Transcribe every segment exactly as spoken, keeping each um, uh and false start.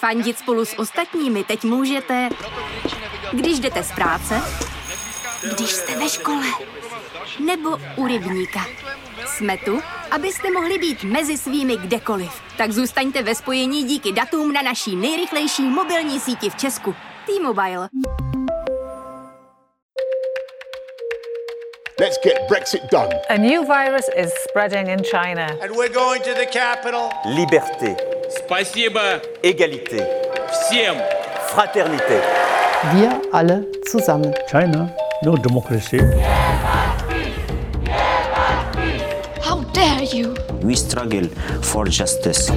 Fandit spolu s ostatními teď můžete, když jdete z práce, když jste ve škole, nebo u rybníka. Jsme tu, abyste mohli být mezi svými kdekoliv. Tak zůstaňte ve spojení díky datům na naší nejrychlejší mobilní síti v Česku. T-Mobile. Let's get Brexit done. A new virus is spreading in China. And we're going to the capital. Liberté. Спасибо. Égalité. Всем. Fraternité. Wir alle zusammen. China, no democracy. How dare you? We struggle for justice.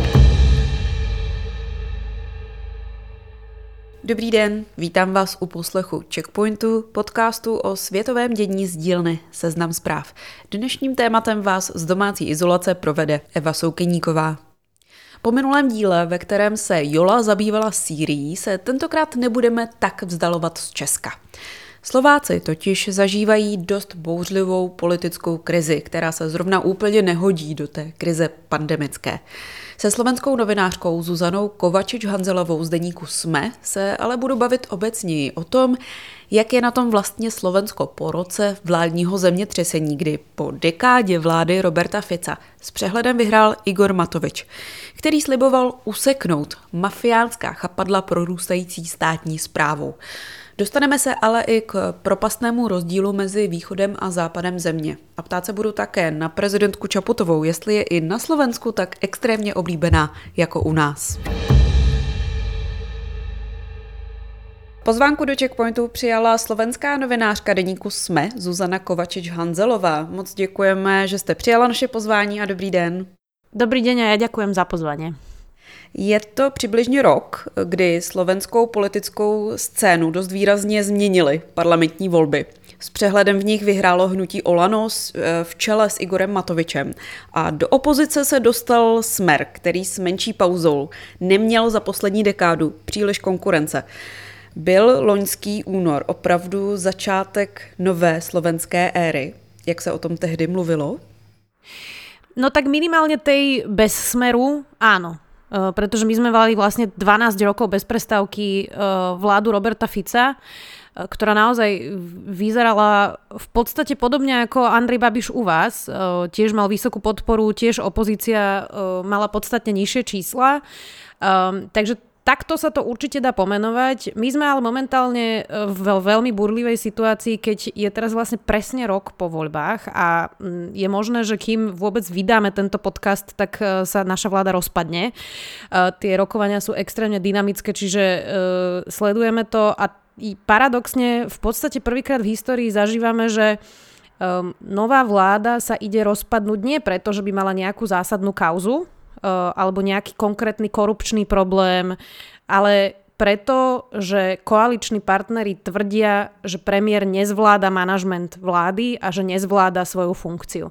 Dobrý den, vítám vás u poslechu Checkpointu, podcastu o světovém dění z dílny Seznam zpráv. Dnešním tématem vás z domácí izolace provede Eva Soukeníková. Po minulém díle, ve kterém se Jola zabývala Sýrií, se tentokrát nebudeme tak vzdalovat z Česka. Slováci totiž zažívají dost bouřlivou politickou krizi, která se zrovna úplně nehodí do té krize pandemické. Se slovenskou novinářkou Zuzanou Kovačič-Hanzelovou z deníku SME se ale budu bavit obecněji o tom, jak je na tom vlastně Slovensko po roce vládního zemětřesení, kdy po dekádě vlády Roberta Fica s přehledem vyhrál Igor Matovič, který sliboval useknout mafiánská chapadla prorůstající státní správou. Dostaneme se ale i k propastnému rozdílu mezi východem a západem země. A ptát se budu také na prezidentku Čaputovou, jestli je i na Slovensku tak extrémně oblíbená jako u nás. Pozvánku do Checkpointu přijala slovenská novinářka deníku SME Zuzana Kovačič-Hanzelová. Moc děkujeme, že jste přijala naše pozvání a dobrý den. Dobrý den a já děkujem za pozvání. Je to přibližně rok, kdy slovenskou politickou scénu dost výrazně změnily parlamentní volby. S přehledem v nich vyhrálo hnutí Olano v čele s Igorem Matovičem a do opozice se dostal Smer, který s menší pauzou neměl za poslední dekádu příliš konkurence. Byl loňský únor opravdu začátek nové slovenské éry, jak se o tom tehdy mluvilo? No tak minimálne tej bez Smeru áno. Uh, pretože my sme mali vlastne dvanásť rokov bez prestávky uh, vládu Roberta Fica, uh, ktorá naozaj vyzerala v podstate podobne ako Andrej Babiš u vás. Uh, tiež mal vysokú podporu, tiež opozícia uh, mala podstatne nižšie čísla. Um, takže takto sa to určite dá pomenovať. My sme ale momentálne v veľmi burlivej situácii, keď je teraz vlastne presne rok po voľbách a je možné, že kým vôbec vydáme tento podcast, tak sa naša vláda rozpadne. Tie rokovania sú extrémne dynamické, čiže sledujeme to a paradoxne v podstate prvýkrát v histórii zažívame, že nová vláda sa ide rozpadnúť nie preto, že by mala nejakú zásadnú kauzu, alebo nejaký konkrétny korupčný problém, ale preto, že koaliční partneri tvrdia, že premiér nezvláda manažment vlády a že nezvláda svoju funkciu.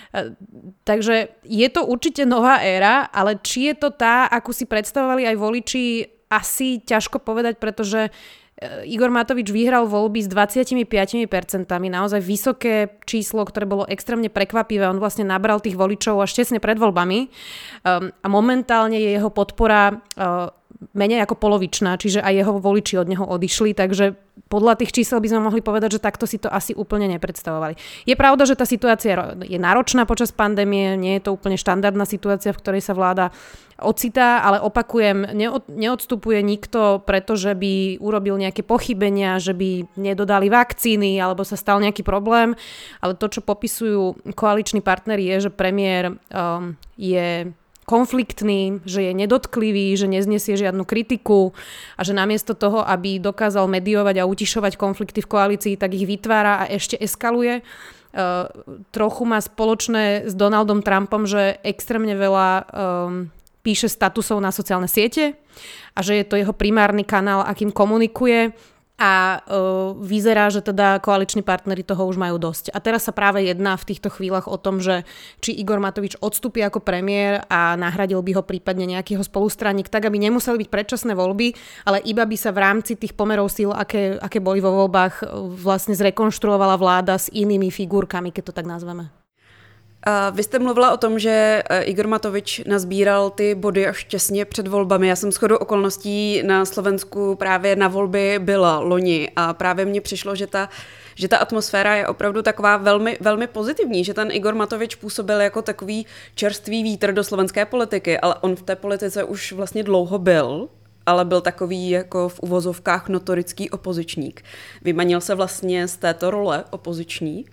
Takže je to určite nová éra, ale či je to tá, akú si predstavovali aj voliči, asi ťažko povedať, pretože Igor Matovič vyhral voľby s dvadsaťpäť percent, naozaj vysoké číslo, ktoré bolo extrémne prekvapivé. On vlastne nabral tých voličov až tesne pred voľbami um, a momentálne je jeho podpora uh, menej ako polovičná, čiže aj jeho voliči od neho odišli, takže podľa tých čísel by sme mohli povedať, že takto si to asi úplne nepredstavovali. Je pravda, že tá situácia je náročná počas pandémie, nie je to úplne štandardná situácia, v ktorej sa vláda ocitá, ale opakujem, neod, neodstupuje nikto, pretože by urobil nejaké pochybenia, že by nedodali vakcíny alebo sa stal nejaký problém, ale to, čo popisujú koaliční partneri, je, že premiér um, je konfliktný, že je nedotklivý, že neznesie žiadnu kritiku a že namiesto toho, aby dokázal mediovať a utišovať konflikty v koalícii, tak ich vytvára a ešte eskaluje. Uh, trochu má spoločné s Donaldom Trumpom, že extrémne veľa um, píše statusov na sociálne siete a že je to jeho primárny kanál, akým komunikuje. A uh, vyzerá, že teda koaliční partneri toho už majú dosť. A teraz sa práve jedná v týchto chvíľach o tom, že či Igor Matovič odstúpi ako premiér a nahradil by ho prípadne nejakého spolustranník, tak aby nemuseli byť predčasné voľby, ale iba by sa v rámci tých pomerov síl, aké, aké boli vo voľbách, vlastne zrekonštruovala vláda s inými figurkami, keď to tak nazveme. A vy jste mluvila o tom, že Igor Matovič nazbíral ty body až těsně před volbami. Já jsem shodou okolností na Slovensku právě na volby byla loni a právě mně přišlo, že ta, že ta atmosféra je opravdu taková velmi, velmi pozitivní, že ten Igor Matovič působil jako takový čerstvý vítr do slovenské politiky, ale on v té politice už vlastně dlouho byl, ale byl takový jako v uvozovkách notorický opozičník. Vymanil se vlastně z této role opoziční?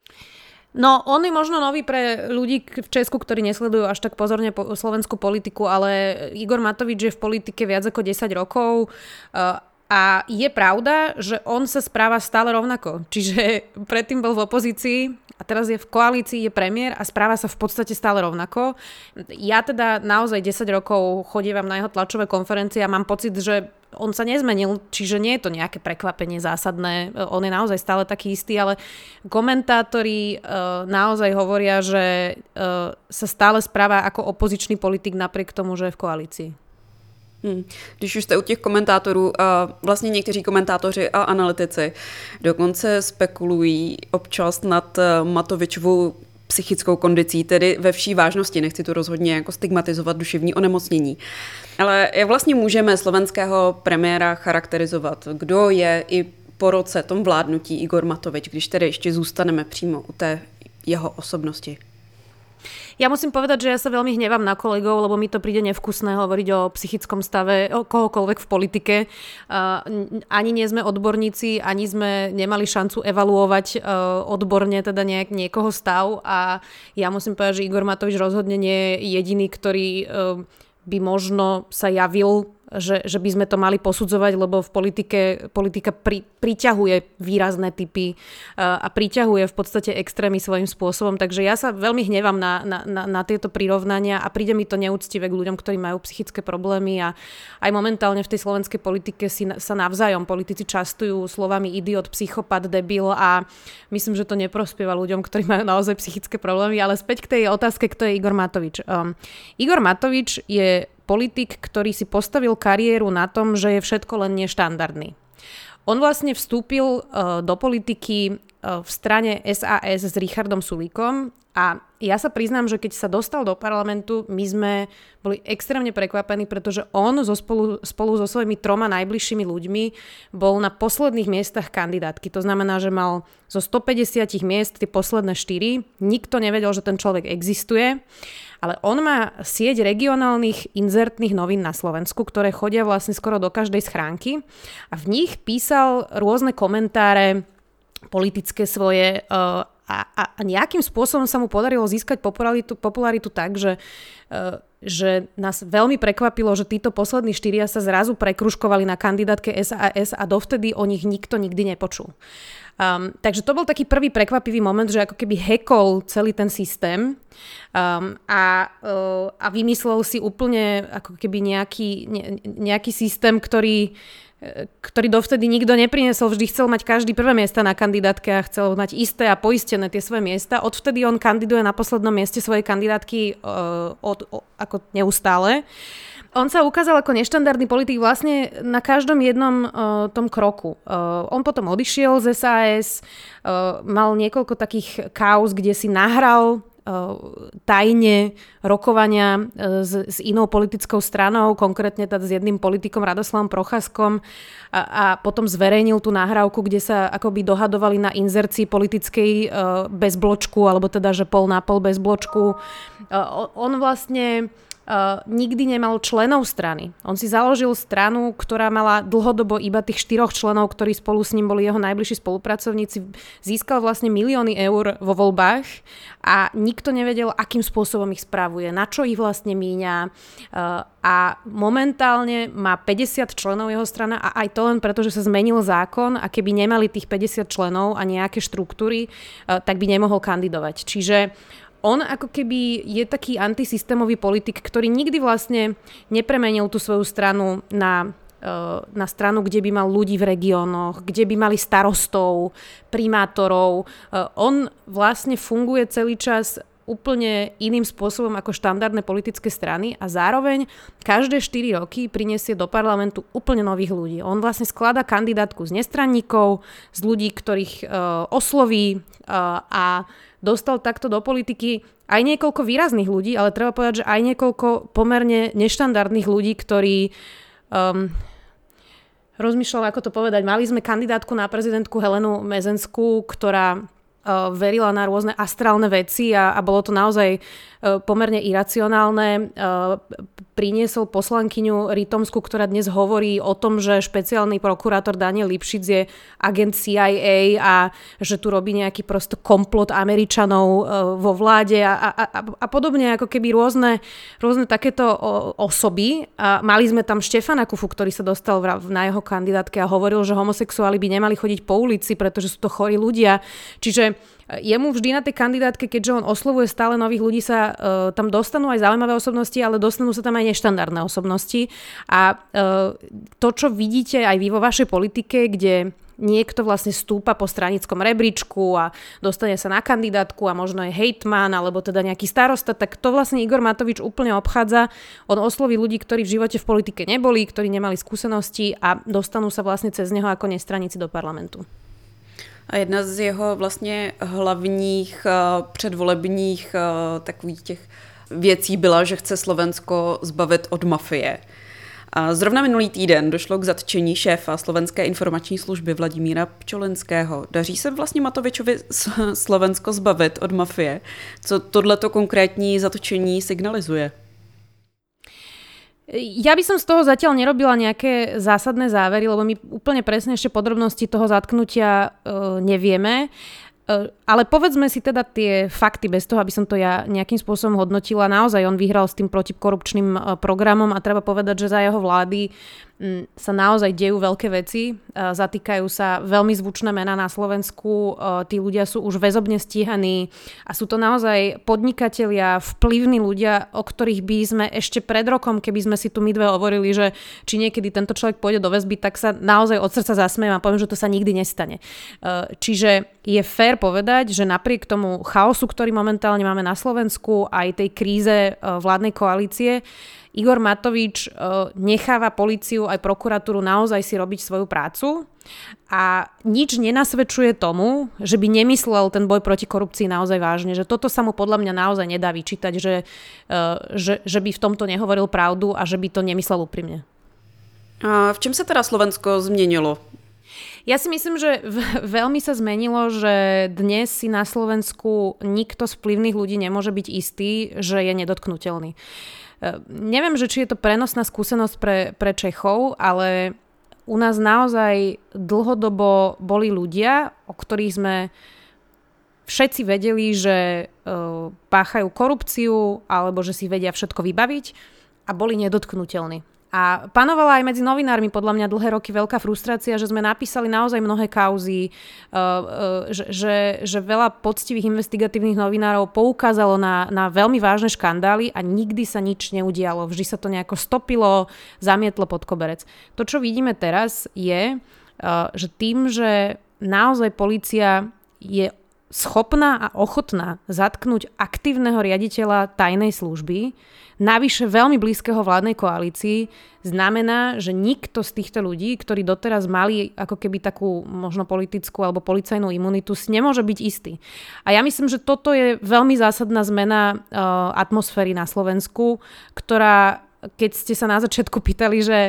No, on je možno nový pre ľudí v Česku, ktorí nesledujú až tak pozorne po slovenskú politiku, ale Igor Matovič je v politike viac ako desať rokov a je pravda, že on sa správa stále rovnako. Čiže predtým bol v opozícii a teraz je v koalícii, je premiér a správa sa v podstate stále rovnako. Ja teda naozaj desať rokov chodievam na jeho tlačové konferencie a mám pocit, že on sa nezmenil, čiže nie je to nejaké prekvapenie zásadné, on je naozaj stále taký istý, ale komentátori uh, naozaj hovoria, že uh, sa stále správa ako opozičný politik napriek tomu, že je v koalícii. Hmm. Když už jste u těch komentátorů, a vlastně někteří komentátoři a analytici dokonce spekulují občas nad Matovičovou psychickou kondicí, tedy ve vší vážnosti, nechci tu rozhodně jako stigmatizovat duševní onemocnění. Ale jak vlastně můžeme slovenského premiéra charakterizovat? Kdo je i po roce tom vládnutí Igor Matovič, když tedy ještě zůstaneme přímo u té jeho osobnosti? Ja musím povedať, že ja sa veľmi hnevám na kolegov, lebo mi to príde nevkusné hovoriť o psychickom stave o kohokoľvek v politike. Uh, ani nie sme odborníci, ani sme nemali šancu evaluovať uh, odborne teda nejak niekoho stav a ja musím povedať, že Igor Matovič rozhodne nie je jediný, ktorý uh, by možno sa javil, že, že by sme to mali posudzovať, lebo v politike politika pri, priťahuje výrazné typy uh, a priťahuje v podstate extrémy svojím spôsobom. Takže ja sa veľmi hnevám na, na, na, na tieto prirovnania a príde mi to neúctivé k ľuďom, ktorí majú psychické problémy a aj momentálne v tej slovenskej politike si sa navzájom politici častujú slovami idiot, psychopat, debil a myslím, že to neprospieva ľuďom, ktorí majú naozaj psychické problémy. Ale späť k tej otázke, kto je Igor Matovič. Um, Igor Matovič je politik, ktorý si postavil kariéru na tom, že je všetko len neštandardný. On vlastne vstúpil uh, do politiky uh, v strane es a es s Richardom Sulíkom a ja sa priznám, že keď sa dostal do parlamentu, my sme boli extrémne prekvapení, pretože on so spolu, spolu so svojimi troma najbližšími ľuďmi bol na posledných miestach kandidátky. To znamená, že mal zo stopäťdesiat miest tie posledné štyri. Nikto nevedel, že ten človek existuje. Ale on má sieť regionálnych inzertných novín na Slovensku, ktoré chodia vlastne skoro do každej schránky a v nich písal rôzne komentáre politické svoje uh, a, a nejakým spôsobom sa mu podarilo získať popularitu, popularitu tak, že, uh, že nás veľmi prekvapilo, že títo poslední štyria sa zrazu prekružkovali na kandidátke es a es a dovtedy o nich nikto nikdy nepočul. Um, takže to bol taký prvý prekvapivý moment, že ako keby hackol celý ten systém um, a, uh, a vymyslel si úplne ako keby nejaký, ne, nejaký systém, ktorý, ktorý dovtedy nikto neprinesol. Vždy chcel mať každý prvé miesta na kandidátke a chcel mať isté a poistené tie svoje miesta. Odvtedy on kandiduje na poslednom mieste svojej kandidátky uh, od, od, ako neustále. On sa ukázal ako neštandardný politik vlastne na každom jednom uh, tom kroku. Uh, on potom odišiel z es a es, uh, mal niekoľko takých kauz, kde si nahral tajne rokovania s, s inou politickou stranou, konkrétne teda s jedným politikom Radoslavom Procházkom a, a potom zverejnil tú nahrávku, kde sa akoby dohadovali na inzercii politickej uh, bez bločku, alebo teda, že pol na pol bez bločku. Uh, on vlastne Uh, nikdy nemal členov strany. On si založil stranu, ktorá mala dlhodobo iba tých štyroch členov, ktorí spolu s ním boli jeho najbližší spolupracovníci. Získal vlastne milióny eur vo voľbách a nikto nevedel, akým spôsobom ich spravuje, na čo ich vlastne míňa. Uh, a momentálne má päťdesiat členov jeho strana a aj to len preto, že sa zmenil zákon a keby nemali tých päťdesiat členov a nejaké štruktúry, uh, tak by nemohol kandidovať. Čiže on ako keby je taký antisystémový politik, ktorý nikdy vlastne nepremenil tú svoju stranu na, na stranu, kde by mal ľudí v regiónoch, kde by mali starostov, primátorov. On vlastne funguje celý čas úplne iným spôsobom ako štandardné politické strany a zároveň každé štyri roky prinesie do parlamentu úplne nových ľudí. On vlastne skladá kandidátku z nestranníkov, z ľudí, ktorých uh, osloví uh, a dostal takto do politiky aj niekoľko výrazných ľudí, ale treba povedať, že aj niekoľko pomerne neštandardných ľudí, ktorí um, rozmýšľam, ako to povedať. Mali sme kandidátku na prezidentku Helenu Mezenskú, ktorá uh, verila na rôzne astrálne veci a, a bolo to naozaj uh, pomerne iracionálne. Uh, priniesol poslankyňu Rytomsku, ktorá dnes hovorí o tom, že špeciálny prokurátor Daniel Lipšic je agent C I A a že tu robí nejaký prosto komplot Američanov uh, vo vláde a, a, a, a podobne, ako keby rôzne, rôzne takéto o, osoby. A mali sme tam Štefana Kufu, ktorý sa dostal v, na jeho kandidátke a hovoril, že homosexuáli by nemali chodiť po ulici, pretože sú to chorí ľudia. Čiže jemu vždy na tej kandidátke, keďže on oslovuje stále nových ľudí, sa uh, tam dostanú aj zaujímavé osobnosti, ale dostanú sa tam aj neštandardné osobnosti. A uh, to, čo vidíte aj vy vo vašej politike, kde niekto vlastne stúpa po stranickom rebríčku a dostane sa na kandidátku a možno je hejtman alebo teda nejaký starosta, tak to vlastne Igor Matovič úplne obchádza. On osloví ľudí, ktorí v živote v politike neboli, ktorí nemali skúsenosti a dostanú sa vlastne cez neho ako nestraníci do parlamentu. A jedna z jeho vlastně hlavních uh, předvolebních uh, takových těch věcí byla, že chce Slovensko zbavit od mafie. A zrovna minulý týden došlo k zatčení šéfa Slovenské informační služby Vladimíra Pčolinského. Daří se vlastně Matovičovi Slovensko zbavit od mafie? Co tohleto konkrétní zatčení signalizuje? Ja by som z toho zatiaľ nerobila nejaké zásadné závery, lebo my úplne presne ešte podrobnosti toho zatknutia e, nevieme. E, ale povedzme si teda tie fakty bez toho, aby som to ja nejakým spôsobom hodnotila. Naozaj on vyhral s tým protikorupčným e, programom a treba povedať, že za jeho vlády m, sa naozaj dejú veľké veci. E, zatýkajú sa veľmi zvučné mená na Slovensku. E, tí ľudia sú už väzobne stíhaní a sú to naozaj podnikatelia, vplyvní ľudia, o ktorých by sme ešte pred rokom, keby sme si tu my dve hovorili, že či niekedy tento človek pôjde do väzby, tak sa naozaj od srdca zasmiem a poviem, že to sa nikdy nestane. E, čiže je fér povedať, že napriek tomu chaosu, ktorý momentálne máme na Slovensku, aj tej kríze e, vládnej koalície, Igor Matovič uh, necháva políciu aj prokuratúru naozaj si robiť svoju prácu a nič nenasvedčuje tomu, že by nemyslel ten boj proti korupcii naozaj vážne, že toto sa mu podľa mňa naozaj nedá vyčítať, že, uh, že, že by v tomto nehovoril pravdu a že by to nemyslel úprimne. A v čem sa teda Slovensko zmenilo? Ja si myslím, že v- veľmi sa zmenilo, že dnes si na Slovensku nikto z vplyvných ľudí nemôže byť istý, že je nedotknutelný. Neviem, že či je to prenosná skúsenosť pre, pre Čechov, ale u nás naozaj dlhodobo boli ľudia, o ktorých sme všetci vedeli, že uh, páchajú korupciu alebo že si vedia všetko vybaviť a boli nedotknutelní. A panovala aj medzi novinármi podľa mňa dlhé roky veľká frustrácia, že sme napísali naozaj mnohé kauzy, že, že, že veľa poctivých investigatívnych novinárov poukázalo na, na veľmi vážne škandály a nikdy sa nič neudialo. Vždy sa to nejako stopilo, zamietlo pod koberec. To, čo vidíme teraz, je, že tým, že naozaj polícia je schopná a ochotná zatknúť aktívneho riaditeľa tajnej služby, navyše veľmi blízkeho vládnej koalícii, znamená, že nikto z týchto ľudí, ktorí doteraz mali ako keby takú možno politickú alebo policajnú imunitu, si nemôže byť istý. A ja myslím, že toto je veľmi zásadná zmena uh, atmosféry na Slovensku, ktorá, keď ste sa na začiatku pýtali, že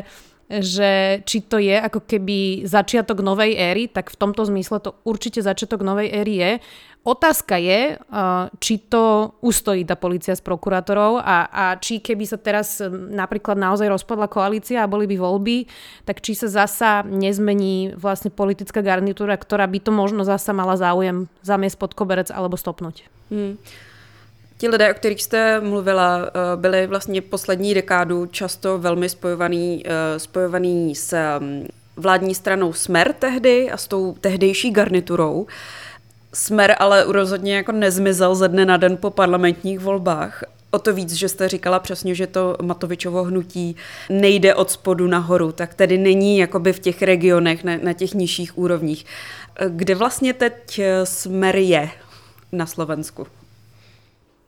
že či to je ako keby začiatok novej éry, tak v tomto zmysle to určite začiatok novej éry je. Otázka je, či to ustojí tá polícia s prokurátorov a, a či keby sa teraz napríklad naozaj rozpadla koalícia a boli by voľby, tak či sa zasa nezmení vlastne politická garnitúra, ktorá by to možno zasa mala záujem zamiesť pod koberec alebo stopnúť. Hmm. Ti lidé, o kterých jste mluvila, byli vlastně poslední dekádu často velmi spojovaný, spojovaný s vládní stranou Smer tehdy a s tou tehdejší garniturou. Smer ale rozhodně jako nezmizel ze dne na den po parlamentních volbách. O to víc, že jste říkala přesně, že to Matovičovo hnutí nejde od spodu nahoru, tak tedy není jakoby v těch regionech, na, na těch nižších úrovních. Kde vlastně teď Smer je na Slovensku?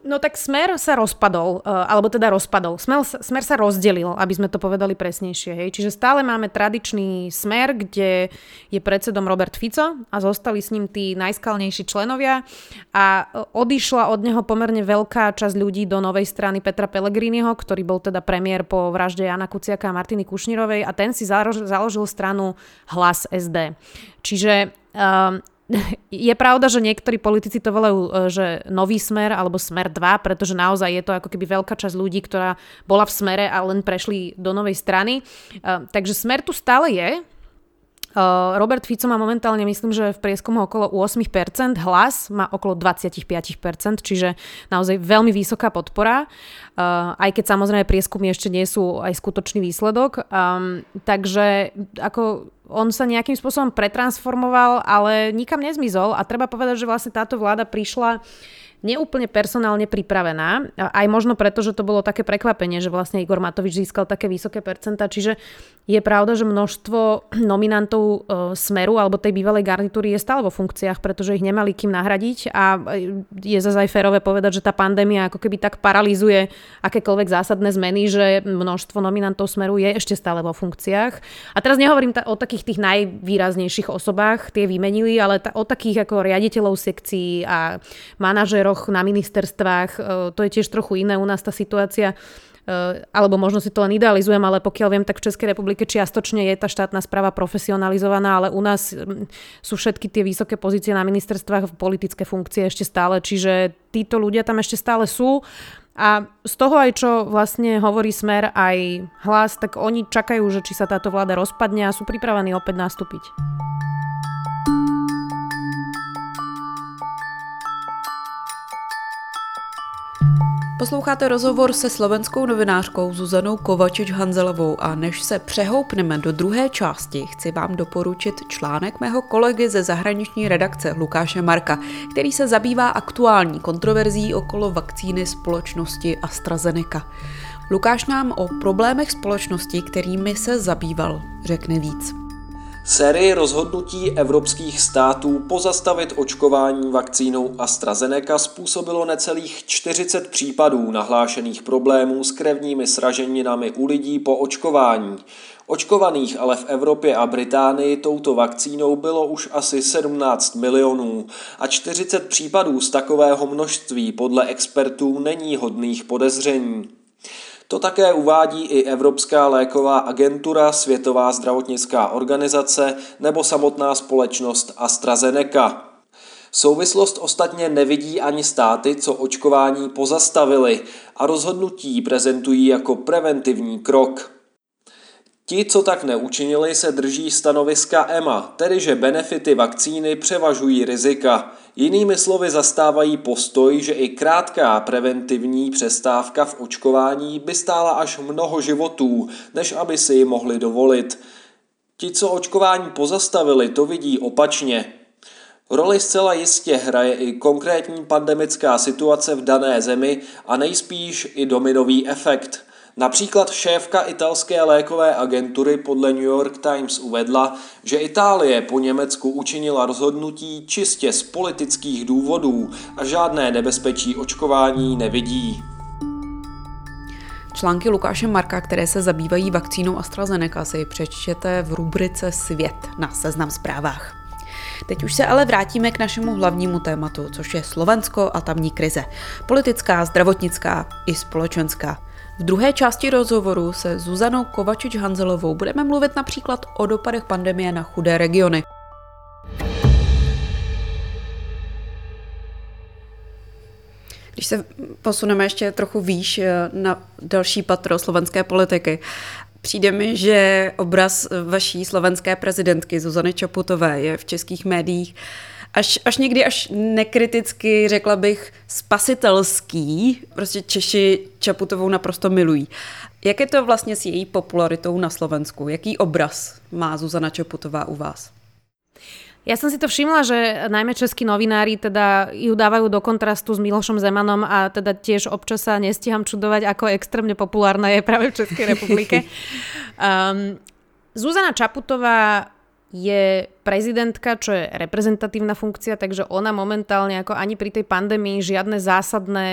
No tak Smer sa rozpadol, alebo teda rozpadol. Smer, smer sa rozdelil, aby sme to povedali presnejšie. Hej. Čiže stále máme tradičný Smer, kde je predsedom Robert Fico a zostali s ním tí najskalnejší členovia a odišla od neho pomerne veľká časť ľudí do novej strany Petra Pellegriniho, ktorý bol teda premiér po vražde Jana Kuciaka a Martiny Kušnírovej a ten si založil stranu Hlas es dé. Čiže um, je pravda, že niektorí politici to volajú, že nový Smer alebo Smer dva, pretože naozaj je to ako keby veľká časť ľudí, ktorá bola v Smere a len prešli do novej strany. Takže Smer tu stále je. Robert Fico má momentálne, myslím, že v prieskumu okolo osem percent, Hlas má okolo dvadsaťpäť percent, čiže naozaj veľmi vysoká podpora, aj keď samozrejme prieskumy ešte nie sú aj skutočný výsledok. Takže ako on sa nejakým spôsobom pretransformoval, ale nikam nezmizol a treba povedať, že vlastne táto vláda prišla neúplne personálne pripravená, aj možno preto, že to bolo také prekvapenie, že vlastne Igor Matovič získal také vysoké percentá, čiže je pravda, že množstvo nominantov e, Smeru alebo tej bývalej garnitúry je stále vo funkciách, pretože ich nemali kým nahradiť a je zase aj férové povedať, že tá pandémia ako keby tak paralizuje akékoľvek zásadné zmeny, že množstvo nominantov Smeru je ešte stále vo funkciách. A teraz nehovorím ta- o takých tých najvýraznejších osobách, tie vymenili, ale ta- o takých ako riaditeľov sekcií a manažérov na ministerstvách, to je tiež trochu iné u nás tá situácia, alebo možno si to len idealizujem, ale pokiaľ viem, tak v Českej republike čiastočne je tá štátna správa profesionalizovaná, ale u nás sú všetky tie vysoké pozície na ministerstvách v politické funkcie ešte stále, čiže títo ľudia tam ešte stále sú a z toho aj čo vlastne hovorí Smer aj Hlas, tak oni čakajú, že či sa táto vláda rozpadne a sú pripravení opäť nastúpiť. Posloucháte rozhovor se slovenskou novinářkou Zuzanou Kovačič-Hanzelovou a než se přehoupneme do druhé části, chci vám doporučit článek mého kolegy ze zahraniční redakce Lukáše Marka, který se zabývá aktuální kontroverzí okolo vakcíny společnosti AstraZeneca. Lukáš nám o problémech společnosti, kterými se zabýval, řekne víc. Sérii rozhodnutí evropských států pozastavit očkování vakcínou AstraZeneca způsobilo necelých čtyřicet případů nahlášených problémů s krevními sraženinami u lidí po očkování. Očkovaných ale v Evropě a Británii touto vakcínou bylo už asi sedmnáct milionů a čtyřicet případů z takového množství podle expertů není hodných podezření. To také uvádí i Evropská léková agentura, Světová zdravotnická organizace nebo samotná společnost AstraZeneca. Souvislost ostatně nevidí ani státy, co očkování pozastavili a rozhodnutí prezentují jako preventivní krok. Ti, co tak neučinili, se drží stanoviska E M A, tedy že benefity vakcíny převažují rizika. Jinými slovy zastávají postoj, že i krátká preventivní přestávka v očkování by stála až mnoho životů, než aby si ji mohli dovolit. Ti, co očkování pozastavili, to vidí opačně. Roli zcela jistě hraje i konkrétní pandemická situace v dané zemi a nejspíš i dominový efekt. Například šéfka italské lékové agentury podle New York Times uvedla, že Itálie po Německu učinila rozhodnutí čistě z politických důvodů a žádné nebezpečí očkování nevidí. Články Lukáše Marka, které se zabývají vakcínou AstraZeneca, si přečtěte v rubrice Svět na Seznam Zprávách. Teď už se ale vrátíme k našemu hlavnímu tématu, což je Slovensko a tamní krize. Politická, zdravotnická i společenská. V druhé části rozhovoru se Zuzanou Kovačič-Hanzelovou budeme mluvit například o dopadech pandemie na chudé regiony. Když se posuneme ještě trochu výš na další patro slovenské politiky, přijde mi, že obraz vaší slovenské prezidentky Zuzany Čaputové je v českých médiích až, až někdy až nekriticky, řekla bych, spasitelský. Prostě Češi Čaputovou naprosto milují. Jak je to vlastně s její popularitou na Slovensku? Jaký obraz má Zuzana Čaputová u vás? Ja som si to všimla, že najmä českí novinári teda ju dávajú do kontrastu s Milošom Zemanom a teda tiež občas sa nestíham čudovať, ako extrémne populárna je práve v Českej republike. Um, Zuzana Čaputová je prezidentka, čo je reprezentatívna funkcia, takže ona momentálne ako ani pri tej pandémii žiadne zásadné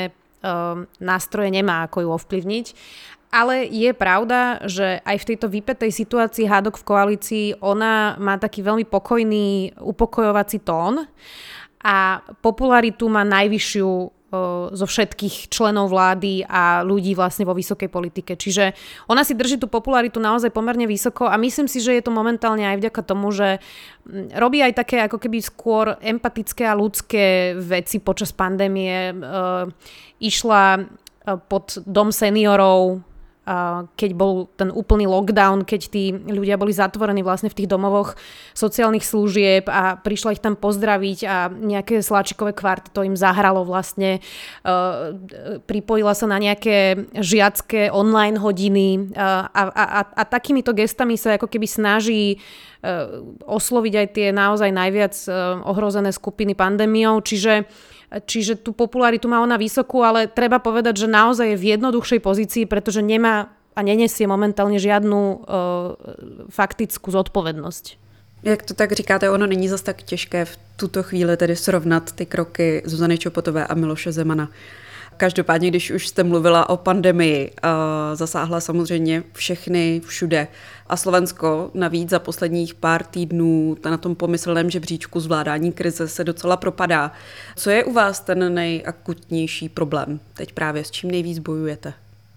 nástroje nemá, ako ju ovplyvniť. Ale je pravda, že aj v tejto vypätej situácii hádok v koalícii ona má taký veľmi pokojný, upokojovací tón a popularitu má najvyššiu o, zo všetkých členov vlády a ľudí vlastne vo vysokej politike. Čiže ona si drží tú popularitu naozaj pomerne vysoko a myslím si, že je to momentálne aj vďaka tomu, že robí aj také ako keby skôr empatické a ľudské veci počas pandémie. E, išla pod dom seniorov, keď bol ten úplný lockdown, keď tí ľudia boli zatvorení vlastne v tých domovoch sociálnych služieb a prišla ich tam pozdraviť a nejaké sláčikové kvarteto im zahralo vlastne. Pripojila sa na nejaké žiacké online hodiny a, a, a, a takýmito gestami sa ako keby snaží osloviť aj tie naozaj najviac ohrozené skupiny pandémiou, čiže Čiže tú popularitu má ona vysokú, ale treba povedať, že naozaj je v jednoduchšej pozícii, pretože nemá a nenesie momentálně žádnou uh, faktickou zodpovědnost. Jak to tak říkáte, ono není zas tak těžké v tuto chvíli tedy srovnat ty kroky Zuzany Čaputové a Miloše Zemana. Každopádně, když už jste mluvila o pandemii, zasáhla samozřejmě všechny všude. A Slovensko navíc za posledních pár týdnů na tom pomyslném žebříčku zvládání krize se docela propadá. Co je u vás ten nejakutnější problém? Teď právě s čím nejvíc bojujete?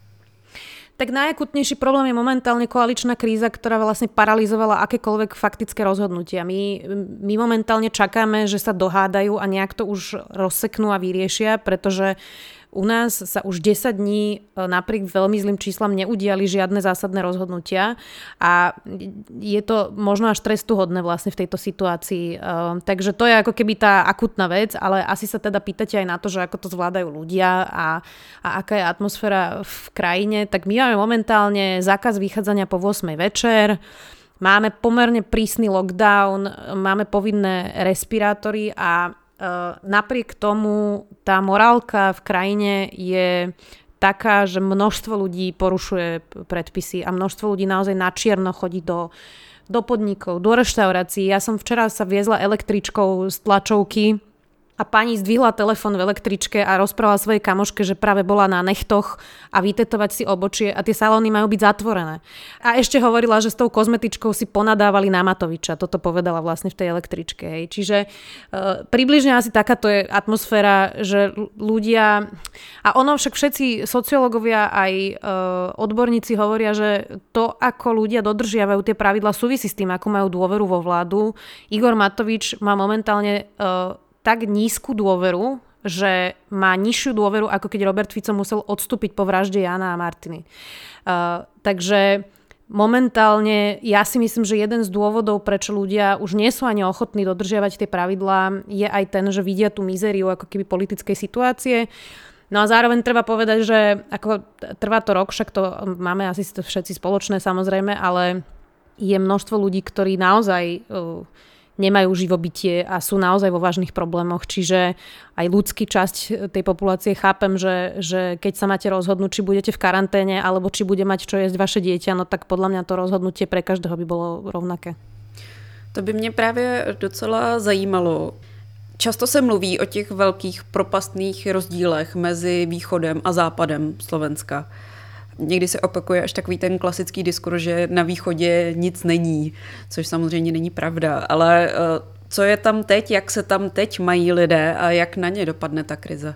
Tak najakutnejší problém je momentálne koaličná kríza, ktorá vlastne paralizovala akékoľvek faktické rozhodnutia. My, my momentálne čakáme, že sa dohádajú a nejak to už rozseknú a vyriešia, pretože u nás sa už desať dní napriek veľmi zlým číslam neudiali žiadne zásadné rozhodnutia a je to možno až trestuhodné vlastne v tejto situácii. Takže to je ako keby tá akutná vec, ale asi sa teda pýtate aj na to, že ako to zvládajú ľudia a, a aká je atmosféra v krajine. Tak my máme momentálne zákaz vychádzania po ôsmej večer, máme pomerne prísny lockdown, máme povinné respirátory a Uh, napriek tomu tá morálka v krajine je taká, že množstvo ľudí porušuje predpisy a množstvo ľudí naozaj na čierno chodí do, do podnikov, do reštaurácií. Ja som včera sa viezla električkou z tlačovky a pani zdvihla telefon v električke a rozprávala svojej kamoške, že práve bola na nechtoch a vytetovať si obočie a tie salóny majú byť zatvorené. A ešte hovorila, že s tou kozmetičkou si ponadávali na Matoviča. Toto povedala vlastne v tej električke. Hej. Čiže e, približne asi takáto je atmosféra, že ľudia... A ono však všetci sociológovia aj e, odborníci hovoria, že to, ako ľudia dodržiavajú tie pravidlá, súvisí s tým, ako majú dôveru vo vládu. Igor Matovič má momentálne... E, tak nízku dôveru, že má nižšiu dôveru, ako keď Robert Fico musel odstúpiť po vražde Jána a Martiny. Uh, takže momentálne ja si myslím, že jeden z dôvodov, prečo ľudia už nie sú ani ochotní dodržiavať tie pravidlá, je aj ten, že vidia tú mizériu ako keby politickej situácie. No a zároveň treba povedať, že ako trvá to rok, však to máme asi všetci spoločné samozrejme, ale je množstvo ľudí, ktorí naozaj... Uh, nemajú živobytie a sú naozaj vo vážnych problémoch. Čiže aj ľudský časť tej populácie chápem, že, že keď sa máte rozhodnúť, či budete v karanténe alebo či bude mať čo jesť vaše dieťa, no tak podľa mňa to rozhodnutie pre každého by bolo rovnaké. To by mě právě docela zajímalo. Často se mluví o těch velkých propastných rozdílech mezi východem a západem Slovenska. Někdy se opakuje až takový ten klasický diskurs, že na východě nic není, což samozřejmě není pravda, ale co je tam teď, jak se tam teď mají lidé a jak na ně dopadne ta krize?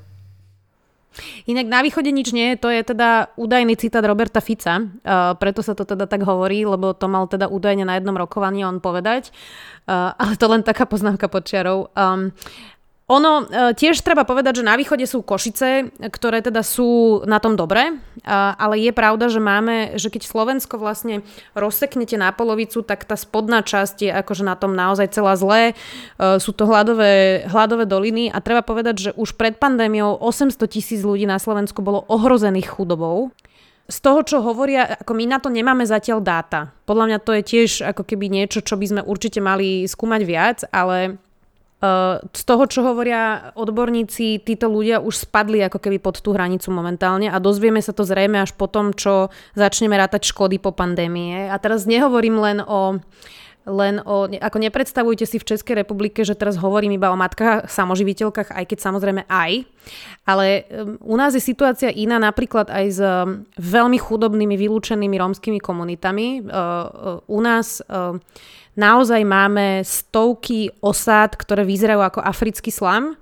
Inak na východe nič nie je, to je teda údajný citát Roberta Fica, uh, preto sa to teda tak hovorí, lebo to mal teda údajne na jednom rokovaní on povedať, uh, ale to len taká poznámka pod čiarou. Um, Ono tiež treba povedať, že na východe sú Košice, ktoré teda sú na tom dobre, ale je pravda, že máme, že keď Slovensko vlastne rozseknete na polovicu, tak tá spodná časť je akože na tom naozaj celá zlé. Sú to hladové, hladové doliny a treba povedať, že už pred pandémiou osemsto tisíc ľudí na Slovensku bolo ohrozených chudobou. Z toho, čo hovoria, ako my na to nemáme zatiaľ dáta. Podľa mňa to je tiež ako keby niečo, čo by sme určite mali skúmať viac, ale z toho, čo hovoria odborníci, títo ľudia už spadli ako keby pod tú hranicu momentálne a dozvieme sa to zrejme až po tom, čo začneme rátať škody po pandémie. A teraz nehovorím len o len o, ako nepredstavujte si v Českej republike, že teraz hovorím iba o matkách, samoživiteľkách, aj keď samozrejme aj, ale u nás je situácia iná napríklad aj s veľmi chudobnými, vylúčenými rómskymi komunitami. U nás naozaj máme stovky osád, ktoré vyzerajú ako africký slam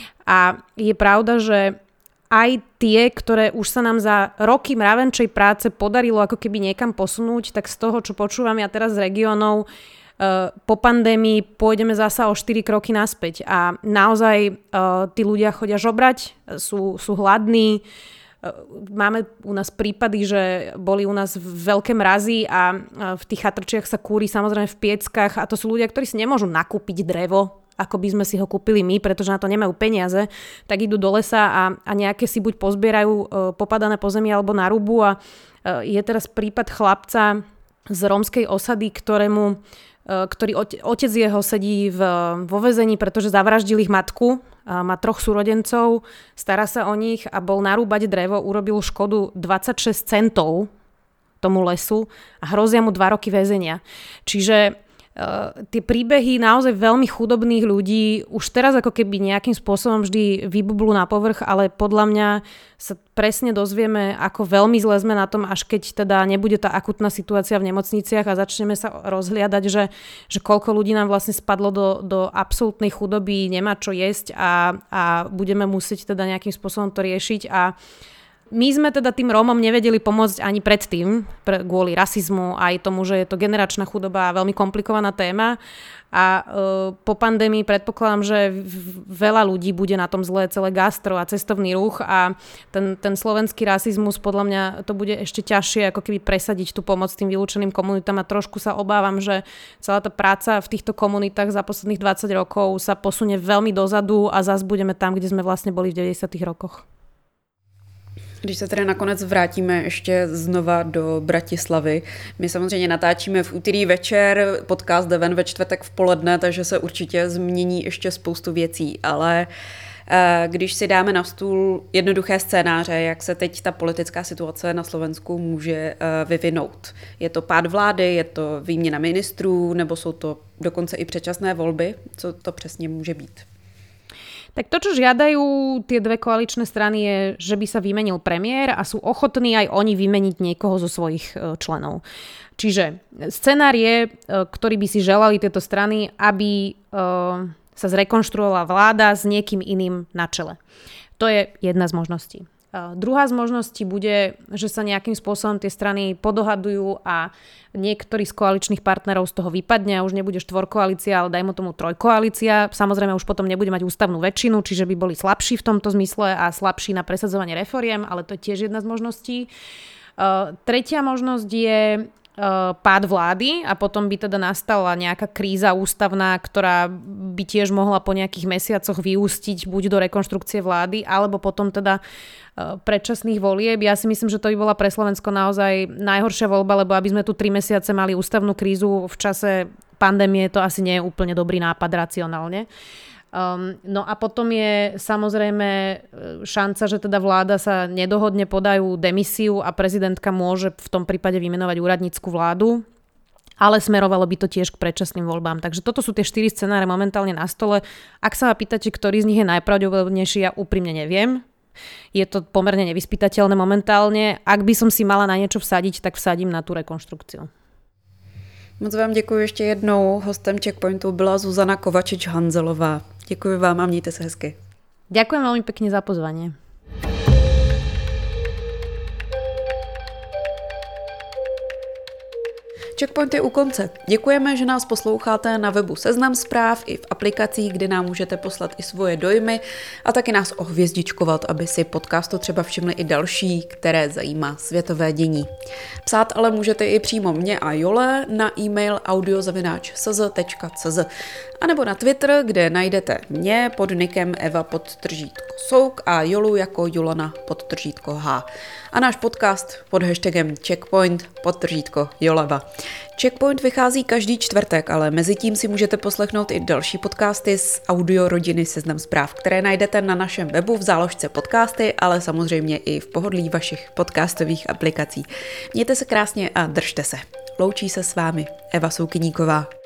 a je pravda, že aj tie, ktoré už sa nám za roky mravenčej práce podarilo ako keby niekam posunúť, tak z toho, čo počúvam ja teraz z regiónov, po pandémii pôjdeme zasa o štyri kroky naspäť. A naozaj tí ľudia chodia žobrať, sú, sú hladní. Máme u nás prípady, že boli u nás veľké mrazy a v tých chatrčiach sa kúri samozrejme v pieckach a to sú ľudia, ktorí si nemôžu nakúpiť drevo, ako by sme si ho kúpili my, pretože na to nemajú peniaze, tak idú do lesa a, a nejaké si buď pozbierajú e, popadané pozemie alebo narúbu a e, je teraz prípad chlapca z rómskej osady, ktorému, e, ktorý ote, otec jeho sedí v, vo väzení, pretože zavraždil ich matku, a má troch súrodencov, stará sa o nich a bol narúbať drevo, urobil škodu dvadsaťšesť centov tomu lesu a hrozia mu dva roky väzenia. Čiže Uh, tie príbehy naozaj veľmi chudobných ľudí už teraz ako keby nejakým spôsobom vždy vybublú na povrch, ale podľa mňa sa presne dozvieme, ako veľmi zle sme na tom, až keď teda nebude tá akutná situácia v nemocniciach a začneme sa rozhliadať, že, že koľko ľudí nám vlastne spadlo do, do absolútnej chudoby, nemá čo jesť a, a budeme musieť teda nejakým spôsobom to riešiť a my sme teda tým Rómom nevedeli pomôcť ani predtým, pre, kvôli rasizmu, aj tomu, že je to generačná chudoba a veľmi komplikovaná téma. A e, po pandémii predpokladám, že v, veľa ľudí bude na tom zlé, celé gastro a cestovný ruch a ten, ten slovenský rasizmus, podľa mňa to bude ešte ťažšie, ako keby presadiť tú pomoc tým vylúčeným komunitám a trošku sa obávam, že celá tá práca v týchto komunitách za posledných dvadsať rokov sa posunie veľmi dozadu a zase budeme tam, kde sme vlastne boli v devadesátych rokoch. Když se tedy nakonec vrátíme ještě znova do Bratislavy, my samozřejmě natáčíme v úterý večer, podcast jde ven ve čtvrtek v poledne, takže se určitě změní ještě spoustu věcí, ale když si dáme na stůl jednoduché scénáře, jak se teď ta politická situace na Slovensku může vyvinout. Je to pád vlády, je to výměna ministrů, nebo jsou to dokonce i předčasné volby? Co to přesně může být? Tak to, čo žiadajú tie dve koaličné strany je, že by sa vymenil premiér a sú ochotní aj oni vymeniť niekoho zo svojich členov. Čiže scenár je, ktorý by si želali tieto strany, aby sa zrekonštruovala vláda s niekým iným na čele. To je jedna z možností. Druhá z možností bude, že sa nejakým spôsobom tie strany podohadujú a niektorý z koaličných partnerov z toho vypadne a už nebude štvorkoalícia, ale dajme tomu trojkoalícia. Samozrejme už potom nebude mať ústavnú väčšinu, čiže by boli slabší v tomto zmysle a slabší na presadzovanie reforiem, ale to je tiež jedna z možností. Uh, tretia možnosť je pád vlády a potom by teda nastala nejaká kríza ústavná, ktorá by tiež mohla po nejakých mesiacoch vyústiť buď do rekonštrukcie vlády, alebo potom teda predčasných volieb. Ja si myslím, že to by bola pre Slovensko naozaj najhoršia voľba, lebo aby sme tu tri mesiace mali ústavnú krízu v čase pandémie, to asi nie je úplne dobrý nápad racionálne. Um, no a potom je samozrejme šanca, že teda vláda sa nedohodne, podajú demisiu a prezidentka môže v tom prípade vymenovať úradnícku vládu, ale smerovalo by to tiež k predčasným voľbám. Takže toto sú tie štyri scenáre momentálne na stole. Ak sa ma pýtate, ktorý z nich je najpravdepodobnejší, ja úprimne neviem. Je to pomerne nevyspytateľné momentálne. Ak by som si mala na niečo vsadiť, tak vsadím na tú rekonštrukciu. Moc vám děkuji ještě jednou. Hostem Checkpointu byla Zuzana Kovačič-Hanzelová. Děkuji vám a mějte se hezky. Ďakujem veľmi pekne za pozvanie. Checkpoint je u konce. Děkujeme, že nás posloucháte na webu Seznam zpráv i v aplikacích, kde nám můžete poslat i svoje dojmy a taky nás ohvězdičkovat, aby si podcastu třeba všimli i další, které zajímá světové dění. Psát ale můžete i přímo mě a Jole na e-mail audio zavináč s z tečka c z a nebo na Twitter, kde najdete mě pod nickem Eva podtržítko Souk a Jolu jako Julana podtržítko H. A náš podcast pod hashtagem Checkpoint podtržítko Joleva. Checkpoint vychází každý čtvrtek, ale mezi tím si můžete poslechnout i další podcasty z audio rodiny Seznam zpráv, které najdete na našem webu v záložce podcasty, ale samozřejmě i v pohodlí vašich podcastových aplikací. Mějte se krásně a držte se. Loučí se s vámi Eva Soukyníková.